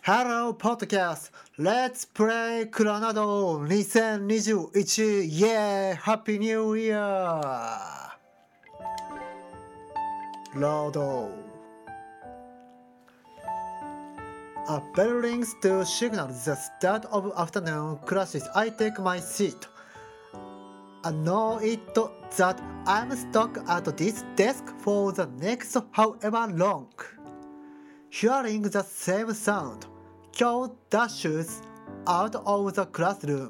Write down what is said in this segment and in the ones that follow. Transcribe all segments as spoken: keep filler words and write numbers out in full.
Hello Podcast Let's Play クラナドにせんにじゅういち Yeah Happy New Year Load A bell rings to signal the start of afternoon classes. I take my seat. I know it that I'm stuck at this desk for the next however long. Hearing the same sound, Kyo dashes out of the classroom.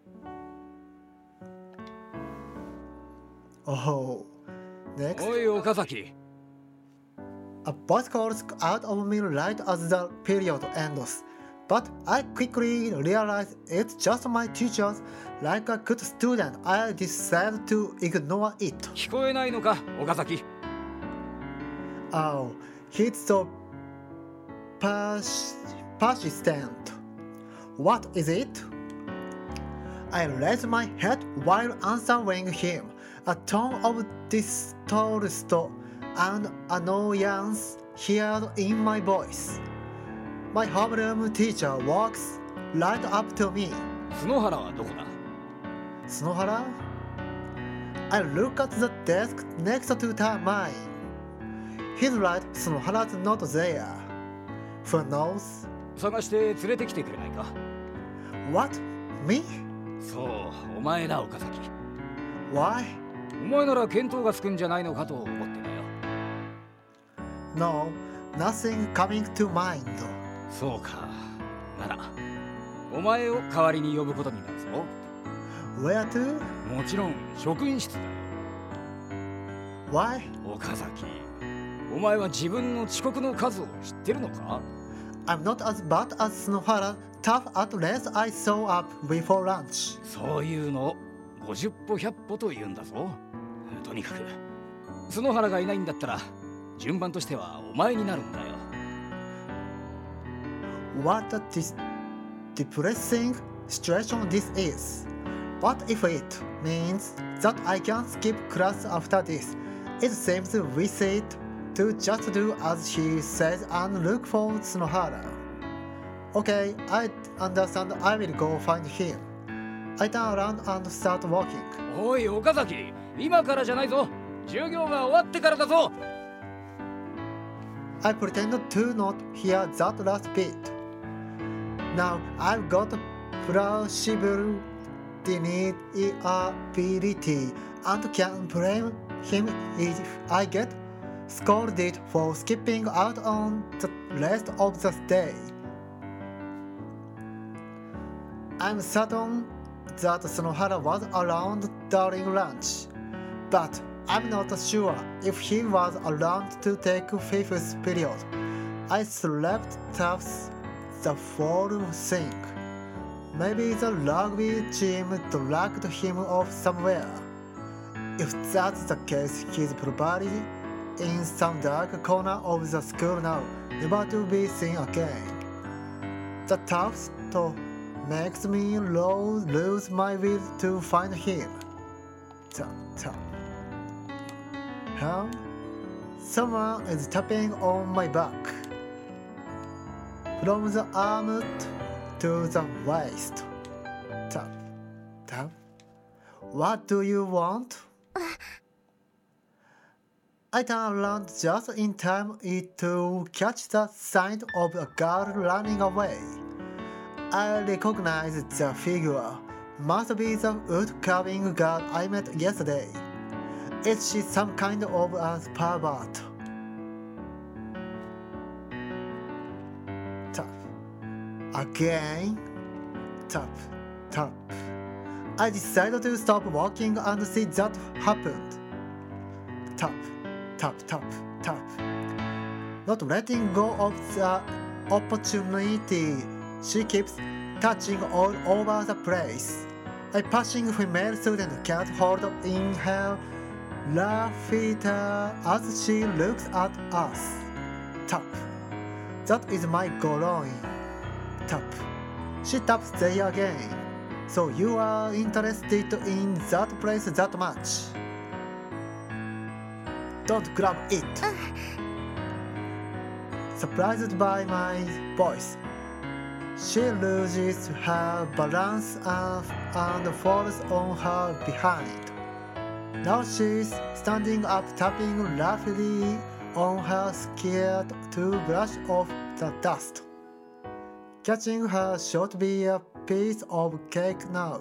Oh, next. おい岡崎。 A voice calls out of me right as the period ends, but I quickly realize it's just my teachers. Like a good student, I decide to ignore it. 聞こえないのか岡崎。 Oh, he's so pers- persistent. What is it? I raise my head while answering him, a tone of distrust and annoyance heard in my voice. My homeroom teacher walks right up to me. 角原はどこだ？ Snohara? I look at the desk next to mine. He's right, Snohara's not there. Who knows? 探して連れてきてくれないか？ What? Me? そう、お前だ岡崎。 Why? お前なら見当がつくんじゃないのかと思ってだよ。 No, nothing coming to mind. そうか。なら、お前を代わりに呼ぶことになるぞ。 Where to? もちろん職員室だよ。 Why? 岡崎、お前は自分の遅刻の数を知ってるのか？ I'm not as bad as Snohara. Tough at least I saw up before lunch. そういうのをごじゅっぽひゃっぽと言うんだぞ。とにかく角原がいないんだったら順番としてはお前になるんだよ。 What a dis- depressing situation this is. What if it means that I can skip class after this? It seems we said to just do as he says and look for Snohara. Okay, I understand. I will go find him. I turn around and start walking. おい岡崎、今からじゃないぞ。授業が終わってからだぞ。 I pretend to not hear that last bit. Now I've got plausible deniability and can blame him if I get scolded for skipping out on the rest of the day. I'm certain that Snohara was around during lunch, but I'm not sure if he was around to take fifth period. I slept tough the whole thing. Maybe the rugby team dragged him off somewhere. If that's the case, he's probably in some dark corner of the school now, never to be seen again. The tough makes me lose, lose my will to find him. Tap, tap. Huh? Someone is tapping on my back. From the arm to the waist. Tap, tap. What do you want? I turn around just in time to catch the sight of a girl running away. I recognize the figure. Must be the wood-carving girl I met yesterday. Is she some kind of a pervert? Tap. Again. Tap. Tap. I decided to stop walking and see that happened. Tap. Tap. Tap. Tap. Not letting go of the opportunity. She keeps touching all over the place. A passing female student can't hold in her laughter as she looks at us. Tap. That is my groin. Tap. She taps there again. So you are interested in that place that much? Don't grab it. Surprised by my voice, She loses her balance and, and falls on her behind. Now she's standing up, tapping rapidly on her skirt to brush off the dust. Catching her should be a piece of cake now.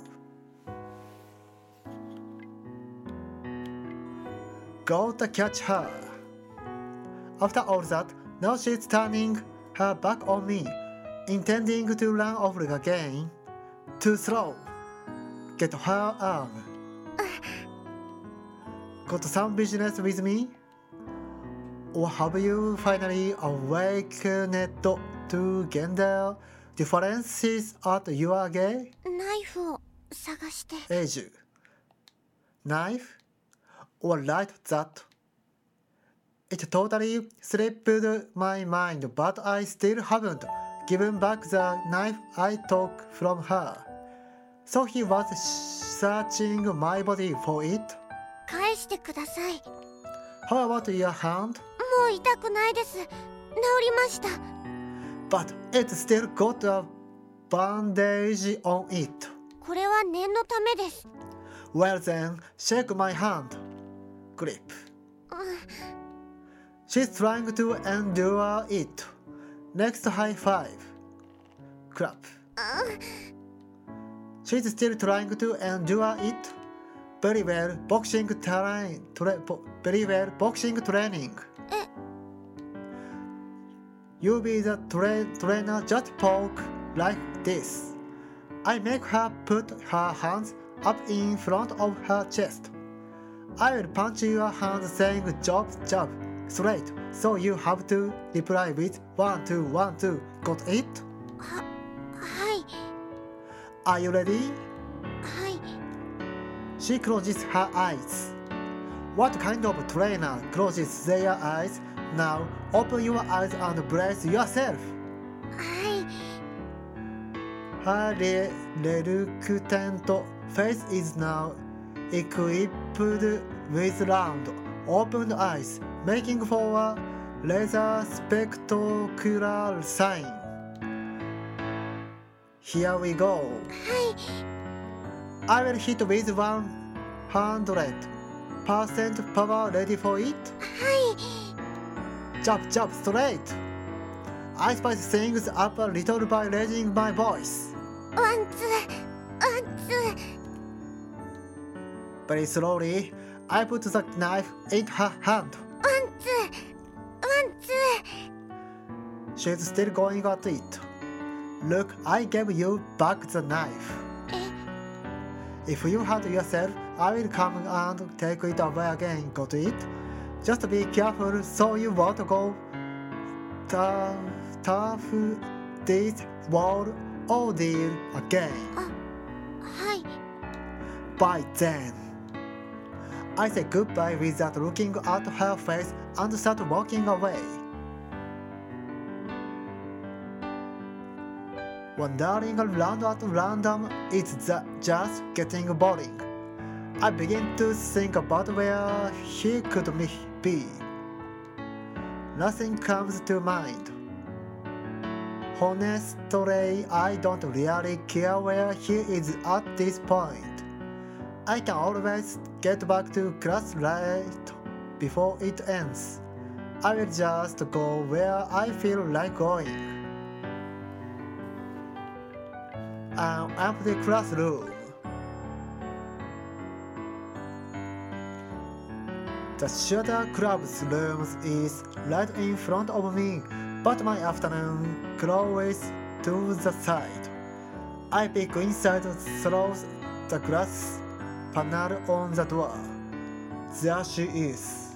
Gotta catch her. After all that, now she's turning her back on me, intending to run off again. Too slow. Get her arm. Got some business with me? Or have you finally awakened to gender differences at your gay ナイフを探して。 age? Knife? Or like that? It totally slipped my mind, but I still haven't given back the knife I took from her. So he was searching my body for it. 返してください。 How about your hand? もう痛くないです。治りました。 But it still got a bandage on it. これは念のためです。 Well then, shake my hand. Grip. うん She's trying to endure it. Next high five. Clap. She's still trying to endure it. Very well, boxing terrain. Tra- bo- very well, boxing training. え、 You be the tra- trainer, just poke like this. I make her put her hands up in front of her chest. I will punch your hand saying jab, jab, straight. So you have to reply with one, two, one, two. Got it? は、はい、 Are you ready? はい。 She closes her eyes. What kind of trainer closes their eyes? Now open your eyes and brace yourself. はい。 Her re- reluctant face is now equipped with round, opened eyes, making for a laser spectacular sign. Here we go. はい。 I will hit with one hundred percent power. Ready for it? はい。 Jump, jump, straight. I spice things up a little by raising my voice. ワンツー、ワンツー。 Very slowly, I put the knife in her hand. ワンツー、ワンツ She's still going at it. Look, I gave you back the knife. ー。え、 If you hurt yourself, I will come and take it away again. Got it? Just be careful so you won't go tough, tough this wall ordeal again. あ、はい。 Bye then. I say goodbye without looking at her face and start walking away. Wandering around at random is the- just getting boring. I begin to think about where he could be. Nothing comes to mind. Honestly, I don't really care where he is at this point. I can always get back to class right before it ends. I will just go where I feel like going. An empty classroom. The Shooter Club's room is right in front of me, but my afternoon closes to the side. I peek inside through the glass panel on the door. There she is.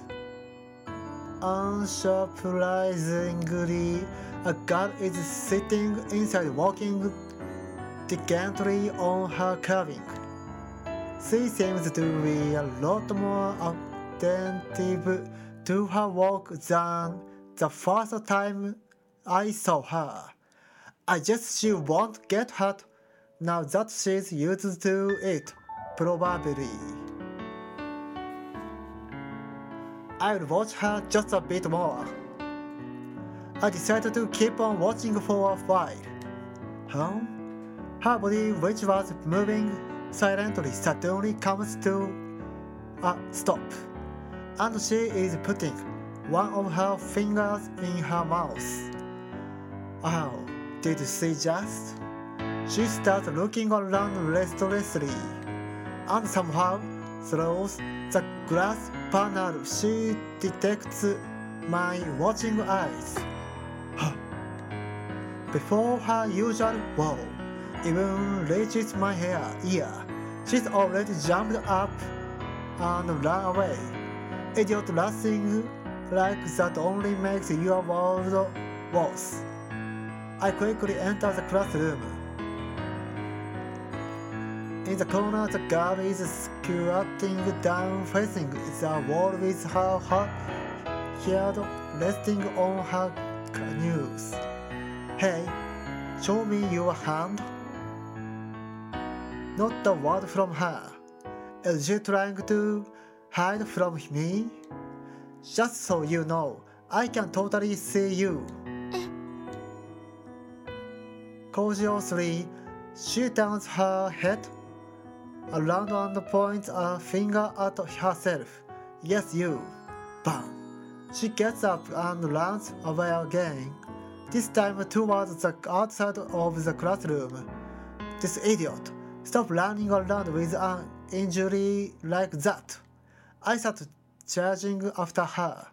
Unsurprisingly, a girl is sitting inside walking diligently on her carving. She seems to be a lot more attentive to her work than the first time I saw her. I guess she won't get hurt now that she's used to it, probably. I'll watch her just a bit more. I decided to keep on watching for a while. Huh? Her body, which was moving silently, suddenly comes to a stop, and she is putting one of her fingers in her mouth. Oh, did you see just? She starts looking around restlessly, and somehow, through the glass panel, she detects my watching eyes. Before her usual wow even reaches my hair, ear, she's already jumped up and ran away. Idiot, laughing like that only makes your world worse. I quickly enter the classroom. In the corner, the girl is squatting down, facing the wall with her head resting on her knees. Hey, show me your hand. Not a word from her. Is she trying to hide from me? Just so you know, I can totally see you. Cautiously, she turns her head around and points a finger at herself. Yes, you. Bam! She gets up and runs away again, this time towards the outside of the classroom. This idiot! Stop running around with an injury like that. I start charging after her.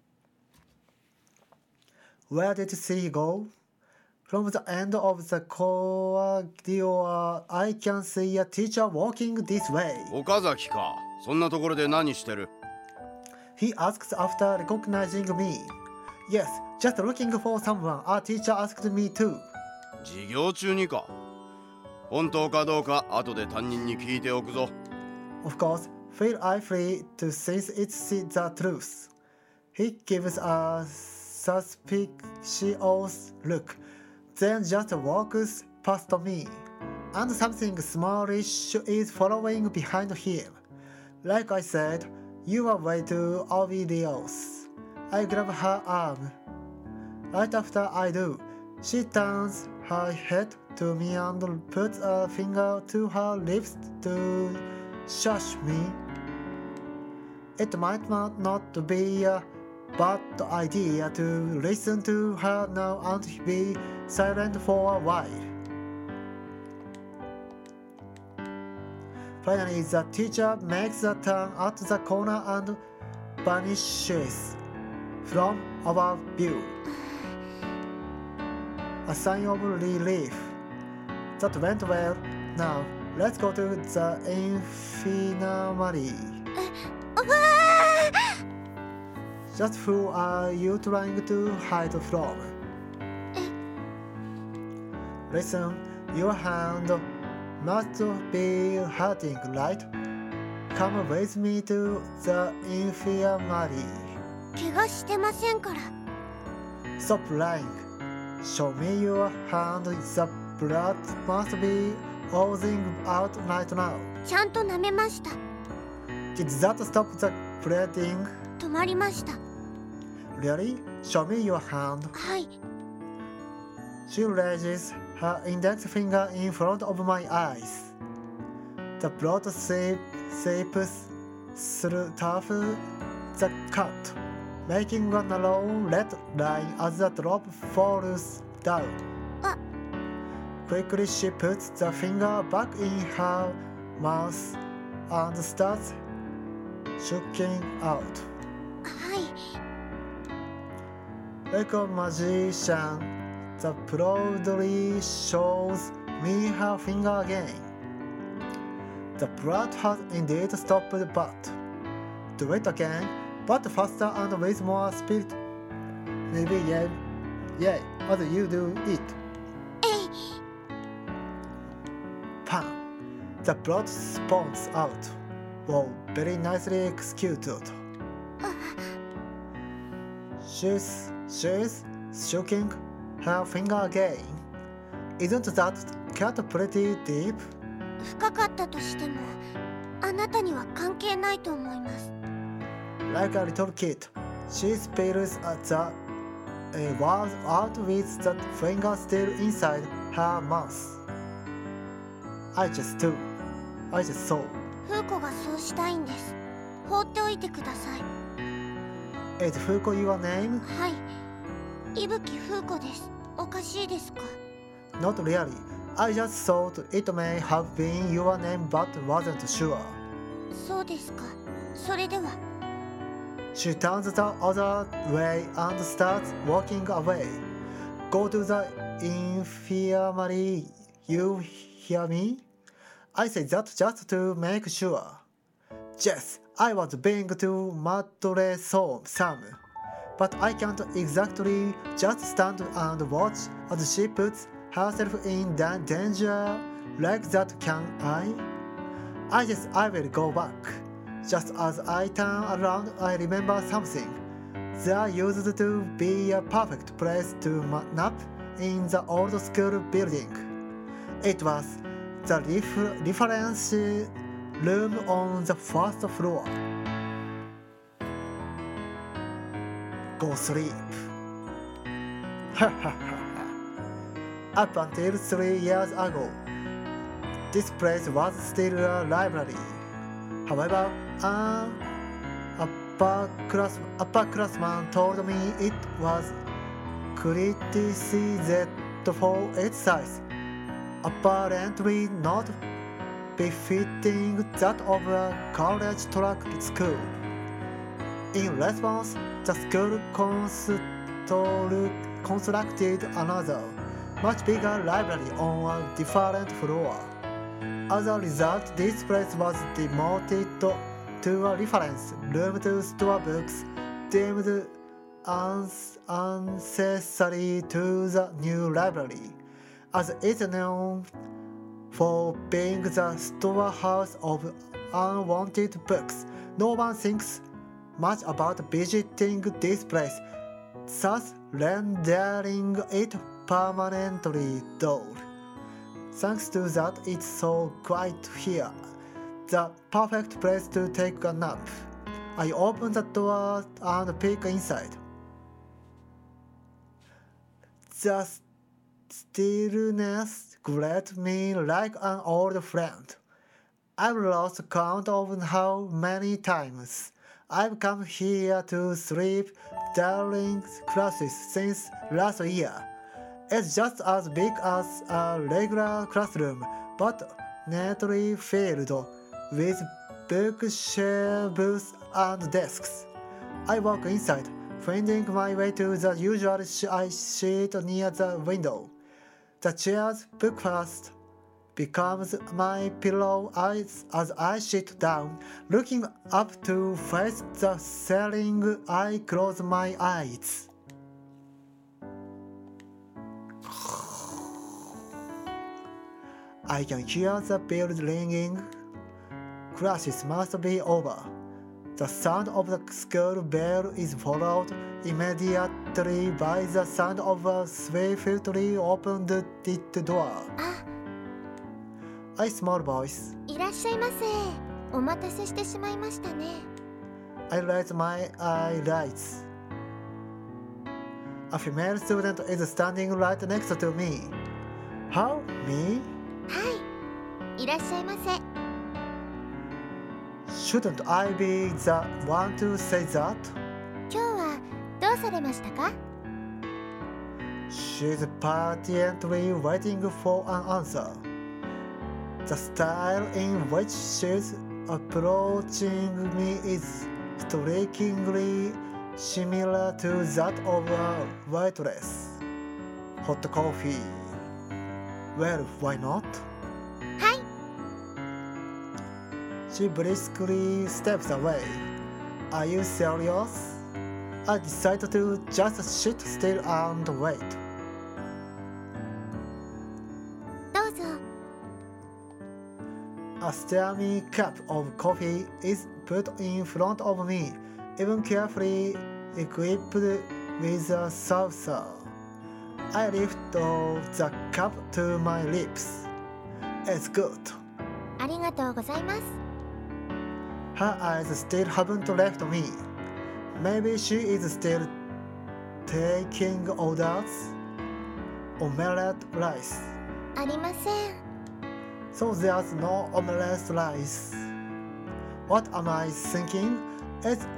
Where did she go? From the end of the corridor, I can see a teacher walking this way. 岡崎か。そんなところで何してる? He asks after recognizing me. Yes, just looking for someone. Our teacher asked me too. 授業中にか。本当かどうか後で担任に聞いておくぞ。 Of course, feel I free to since it's the truth. He gives a suspicious look, then just walks past me, and something smallish is following behind him. Like I said, you are way too obvious. I grab her arm. Right after I do, she turns her head to me and puts a finger to her lips to shush me. It might not be a bad idea to listen to her now and be silent for a while. Finally, the teacher makes a turn at the corner and vanishes from our view. A sign of relief. That went well. Now, let's go to the infirmary. Just who are you trying to hide from? Listen, your hand must be hurting, right? Come with me to the infirmary. 怪我してませんから。 Stop lying. Show me your hand. The blood must be oozing out right now. ちゃんと舐めました。 Did that stop the bleeding? 止まりました。 Really? Show me your hand. はい。 She raises her index finger in front of my eyes. The blood seep, seeps through the cut, making a narrow red line as the drop falls down. Ah. Quickly she puts the finger back in her mouth and starts shaking out. はい。 Like a magician, the proudly shows me her finger again. The blood has indeed stopped, but do it again, but faster and with more spirit. Maybe yeah, yeah, as you do it. えい。 Pam! The blood spawns out. Wow, very nicely executed. She's, she's shaking her finger again. Isn't that cut pretty deep? 深かったとしても、あなたには関係ないと思います。 Like a little kid, she spills the uh, words out with the finger still inside her mouth. I just do. I just saw. フーコがそうしたいんです。放っておいてください。 Is Fuko your name? はい。伊吹フーコです。おかしいですか？ Not really. I just thought it may have been your name but wasn't sure. そうですか。それでは。 She turns the other way and starts walking away. Go to the infirmary. You hear me? I say that just to make sure. Yes, I was being too madly-some, but I can't exactly just stand and watch as she puts herself in danger like that, can I? I guess I will go back. Just as I turn around, I remember something. There used to be a perfect place to nap in the old school building. It was the ref- reference room on the first floor. Go sleep. Up until three years ago, this place was still a library. However, an upper-class, upperclassman told me it was criticized for its size, apparently not befitting that of a college track school. In response, the school constructed another, much bigger library on a different floor. As a result, this place was demoted to a reference room to store books deemed unnecessary to the new library, as it's known for being the storehouse of unwanted books. No one thinks much about visiting this place, thus rendering it permanently dull. Thanks to that, it's so quiet here. The perfect place to take a nap. I open the door and peek inside. The stillness greets me like an old friend. I've lost count of how many times I've come here to sleep during classes since last year. It's just as big as a regular classroom, but neatly filled with bookshelves and desks. I walk inside, finding my way to the usual seat near the window. The chair's bookcase becomes my pillow as, as I sit down, looking up to face the ceiling. I close my eyes. I can hear the bell ringing. Classes must be over. The sound of the school bell is followed immediately by the sound of a swiftly opened door. あ、 A small voice. いらっしゃいませ。お待たせしてしまいましたね。 I raise my eyelids. A female student is standing right next to me. How? Me? はい。いらっしゃいませ。 Shouldn't I be the one to say that? 今日はどうされましたか？ She's patiently waiting for an answer. The style in which she's approaching me is strikingly similar to that of a waitress. Hot coffee. Well, why not? はい。 She briskly steps away. Are you serious? I decide to just sit still and wait. どうぞ。 A steamy cup of coffee is put in front of me, even carefully equipped with a saucer. I lift the cup to my lips. It's good. ありがとうございます。 Her eyes still haven't left me. Maybe she is still taking orders. Omelette rice. りません。 So there's no omelette rice. What am I thinking? It's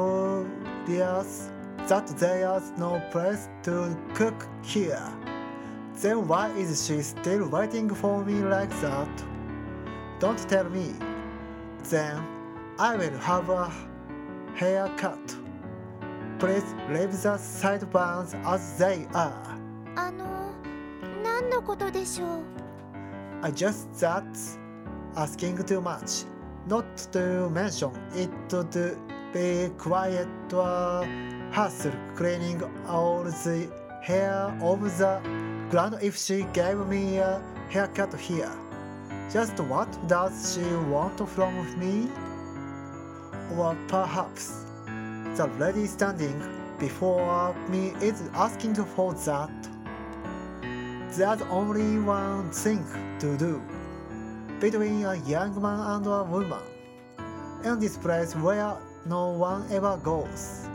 obvious that there's no place to cook here. Then why is she still waiting for me like that? Don't tell me. Then I will have a haircut. Please leave the sideburns as they are. あの何のことでしょう。 I just that's asking too much. Not to mention it would be quite a hassle cleaning all the hair of the ground if she gave me a haircut here. Just what does she want from me? Or perhaps the lady standing before me is asking for that. There's only one thing to do between a young man and a woman in this place where no one ever goes.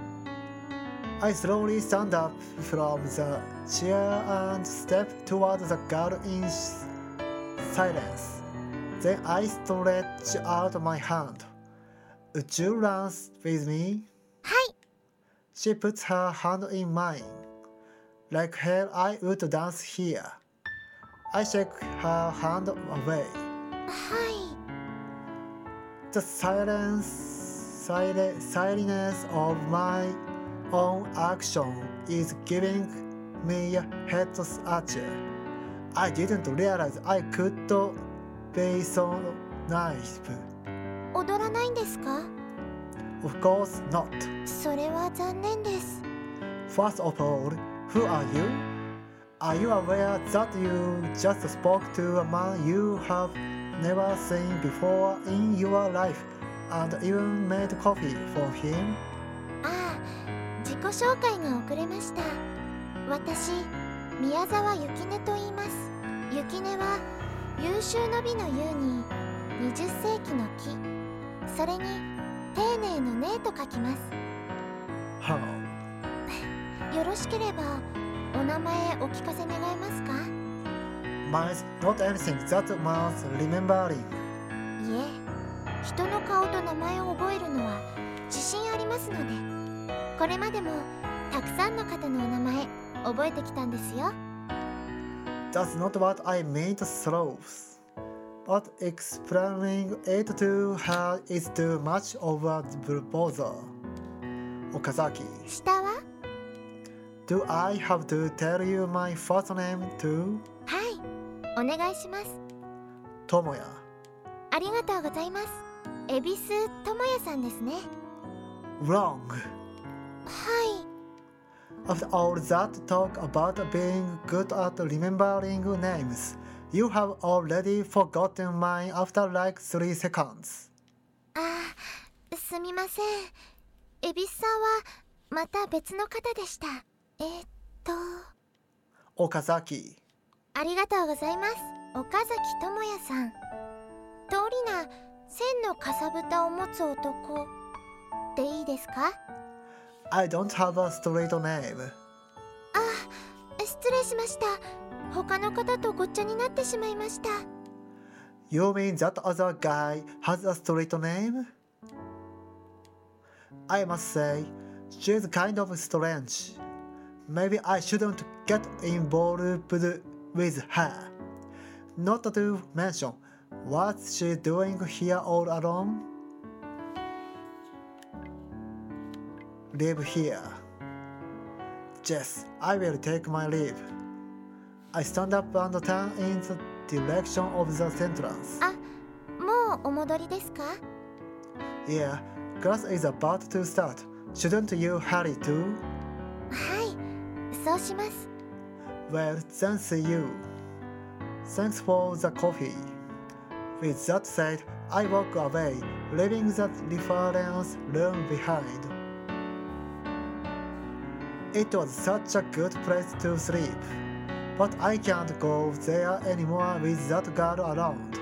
I slowly stand up from the chair and step toward the girl in silence. Then I stretch out my hand. Would you dance with me? はい。 She puts her hand in mine. Like hell I would dance here. I shake her hand away. はい。 The silence, sil- silence of my own action is giving me a head scratcher. I didn't realize I could be so naive. 踊らないんですか？ Of course not. それは残念です。 First of all, who are you? Are you aware that you just spoke to a man you have never seen before in your life and even made coffee for him? ああ、自己紹介が遅れました。私、宮沢ゆきねと言います。ゆきねは優秀の美の優ににじゅっ世紀の木、それに丁寧の寧と書きます。 How? よろしければお名前お聞かせ願えますか？ Mine's not anything that man's remembering. いえ、人の顔と名前を覚えるのは自信ありますので、これまでもたくさんの方のお名前覚えてきたんですよ。 That's not what I meant, sloth. But explaining it to her is too much of a bother. Okazaki, 下は？ do I have to tell you my first name too? はい、お願いします。 Tomoya. ありがとうございます。恵比寿智也さんですね。 Wrong. はい。 After all that talk about being good at remembering names, you have already forgotten mine after like three seconds. ああ、すみません。恵比寿さんはまた別の方でした。えー、っと Okazaki. ありがとうございます。岡崎智也さん。通りな千のかさぶたを持つ男でいいですか？ I don't have a straight name. あ、失礼しました。他の方とごっちゃになってしまいました。 You mean that other guy has a straight name? I must say, she's kind of strange. Maybe I shouldn't get involved with her. Not to mention, what's she doing here all alone? Live here. Yes, I will take my leave. I stand up and turn in the direction of the entrance. あ、もうお戻りですか？ Yeah, class is about to start. Shouldn't you hurry too? はい、そうします。 Well, then see you. Thanks for the coffee. With that said, I walk away, leaving the reference room behind. It was such a good place to sleep, but I can't go there anymore with that girl around.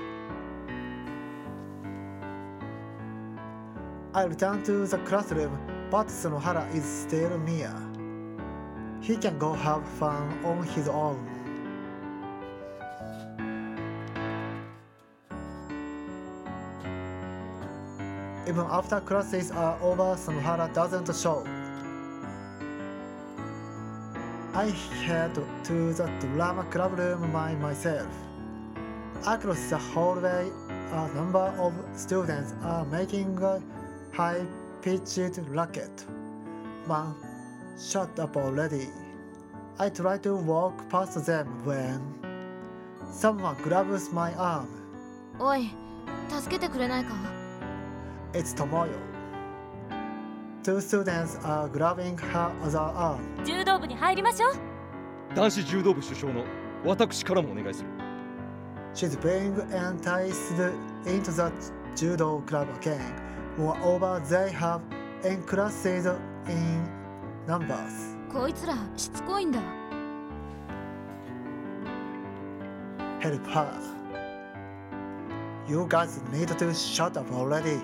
I return to the classroom, but Sonohara is still near. He can go have fun on his own. Even after classes are over, Sonohara doesn't show. I head to the drama club room by myself. Across the hallway, a number of students are making a high-pitched racket. Man, shut up already. I try to walk past them when someone grabs my arm. おい、助けてくれないか？ It's Tomoyo. Two students are grabbing her other arm. 柔道部に入りましょう。 男子柔道部主将の私からもお願いする。 She's being enticed into the judo club again. Moreover, they have increases in numbers. こいつらしつこいんだ。 Help her. You guys need to shut up already.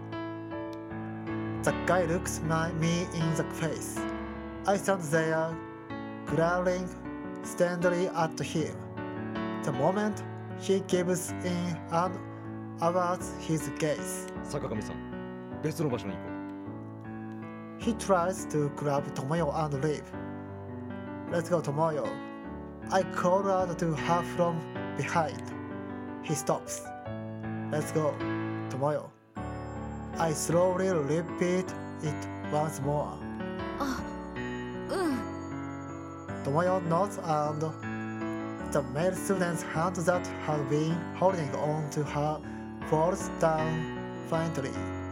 The guy looks my, me in the face. I stand there, glaring steadily at him. The moment he gives in and averts his gaze. 坂上さん、別の場所に行こう。 He tries to grab Tomoyo and leave. Let's go, Tomoyo. I call out to her from behind. He stops. Let's go, Tomoyo. I slowly repeat it once more. あ、うん。 Tomoyo nods and the male student's hand that had been holding on to her falls down faintly.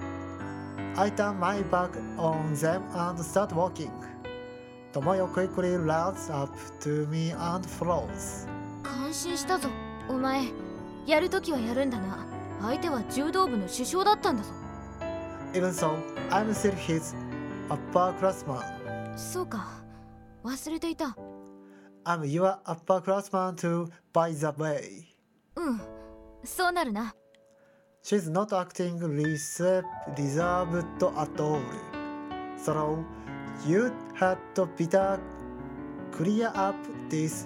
I turn my back on them and start walking. Tomoyo quickly runs up to me and flows. 感心したぞ。お前、やるときはやるんだな。相手は柔道部の主将だったんだぞ。 Even so, I'm still his upperclassman. そうか、忘れていた。 I'm your upperclassman too, by the way. うん、そうなるな。 She's not acting reserved at all. So, you had better clear up this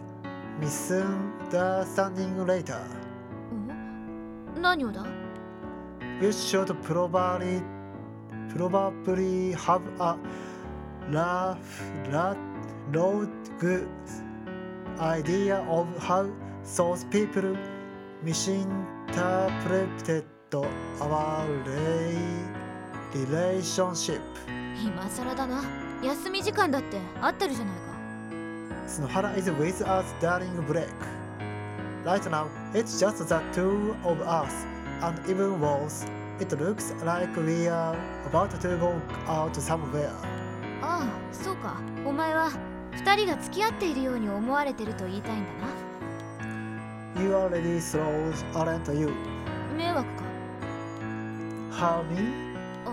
misunderstanding later. ん？何をだ？ You should probably probably have a rough, rough, good idea of how those people misinterpreted our relationship. 今更だな。休み時間だって合ってるじゃないか。 Sonohara is with us during break. Right now, it's just the two of us, and even worse, it looks like we are about to go out somewhere. ああ、そうか。お前は二人が付き合っているように思われてると言いたいんだな。 You already slow, aren't you? 迷惑か。 How me? あ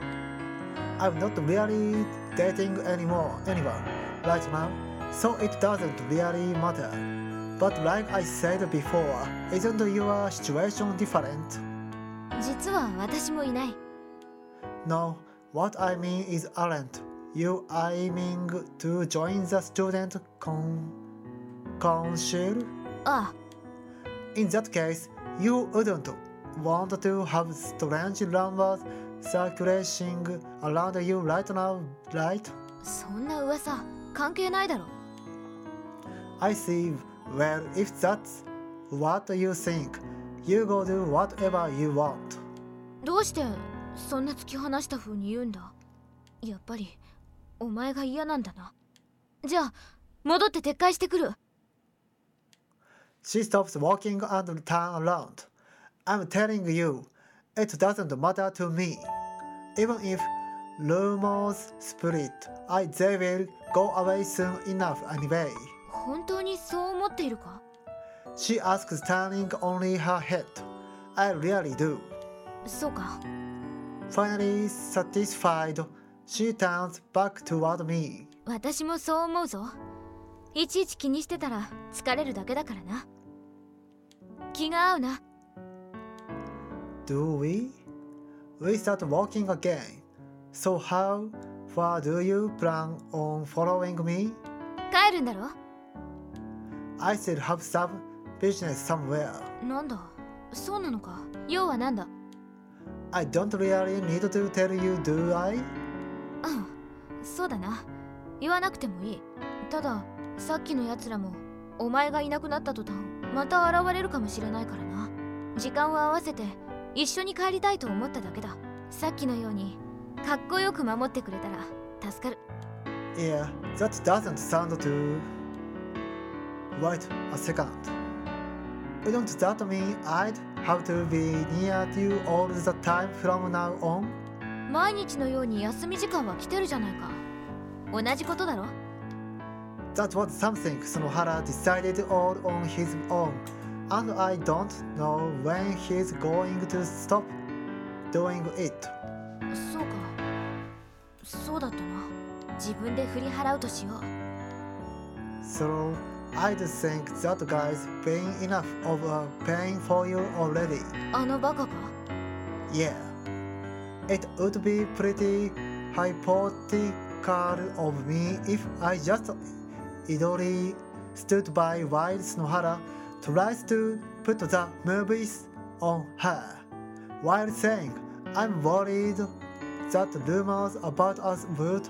I'm not really dating anymore, anyone, right now, so it doesn't really matter. But like I said before, isn't your situation different? あ、実は私もいない。 No, what I mean is aren't you aiming to join the student con council? ああ、 In that case, you wouldn't want to have strange rumors circulating around you right now, right? そんな噂関係ないだろ。 I see. Well, if that's what you think, you go do whatever you want. どうしてそんな突き放した風に言うんだ？やっぱりお前が嫌なんだな。じゃあ戻って撤回してくる。 She stops walking and turns around. I'm telling you, it doesn't matter to me. Even if rumors split, I they will go away soon enough anyway. 本当にそう思っているか？ She asks, turning only her head. I really do. そうか。 Finally satisfied, she turns back toward me. 私もそう思うぞ。いちいち気にしてたら疲れるだけだからな。気が合うな。 Do we? We start walking again. So how far do you plan on following me? 帰るんだろ？ I still have some business somewhere. なんだ、そうなのか。要はなんだ？ I don't really need to tell you, do I? うんそうだな。言わなくてもいい。たださっきのやつらもお前がいなくなった途端また現れるかもしれないからな。時間を合わせて一緒に帰りたいと思っただけだ。さっきのようにかっこよく守ってくれたら助かる。 Yeah, that doesn't sound too... Wait a second. Wouldn't that mean I'd have to be near you all the time from now on? 毎日のように休み時間は来てるじゃないか。同じことだろ。 That was something Sonohara decided all on his own, and I don't know when he's going to stop doing it. そうか。そうだったな。自分で振り払うとしよう。 So I'd think that guy's paying enough of a pain for you already. あのバカか。 Yeah. It would be pretty hypothetical of me if I just idly stood by while Sonohara tries to put the movies on her, while saying I'm worried that rumors about us would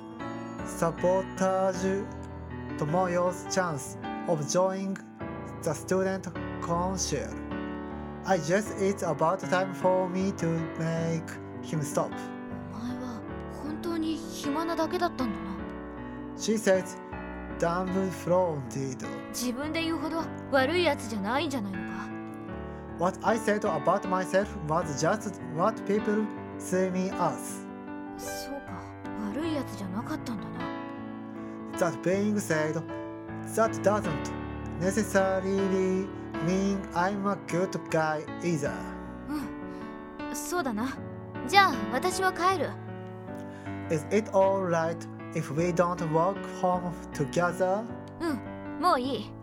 sabotage Tomoyo's chance of joining the student council. I guess it's about time for me to make him stop. お前は本当に暇なだけだったんだな。 She says, dumbfounded. 自分で言うほど悪いやつじゃないんじゃないのか。 What I said about myself was just what people see me as. そうか。悪いやつじゃなかったんだな。 That being said, that doesn't necessarily mean I'm a good guy either. うんそうだな。じゃあ私は帰る。 Is it alright if we don't walk home together? うんもういい。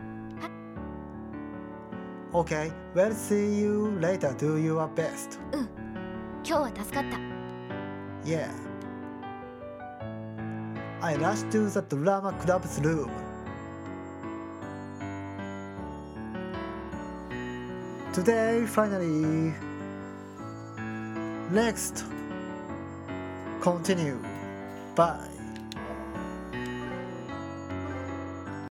Okay, well see you later. Do your best. うん今日は助かった。 Yeah. I rushed to the drama club's room. Today, finally. Next. Continue. Bye.